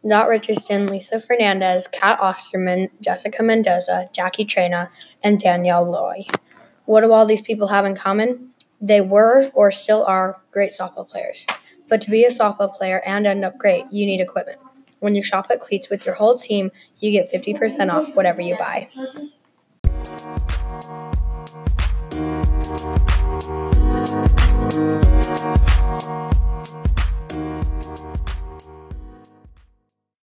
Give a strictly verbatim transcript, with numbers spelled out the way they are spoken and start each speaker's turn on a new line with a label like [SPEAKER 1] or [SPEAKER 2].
[SPEAKER 1] Dot Richardson, Lisa Fernandez, Kat Osterman, Jessica Mendoza, Jackie Trena, and Danielle Loy. What do all these people have in common? They were or still are great softball players. But to be a softball player and end up great, you need equipment. When you shop at Cleats with your whole team, you get fifty percent off whatever you buy.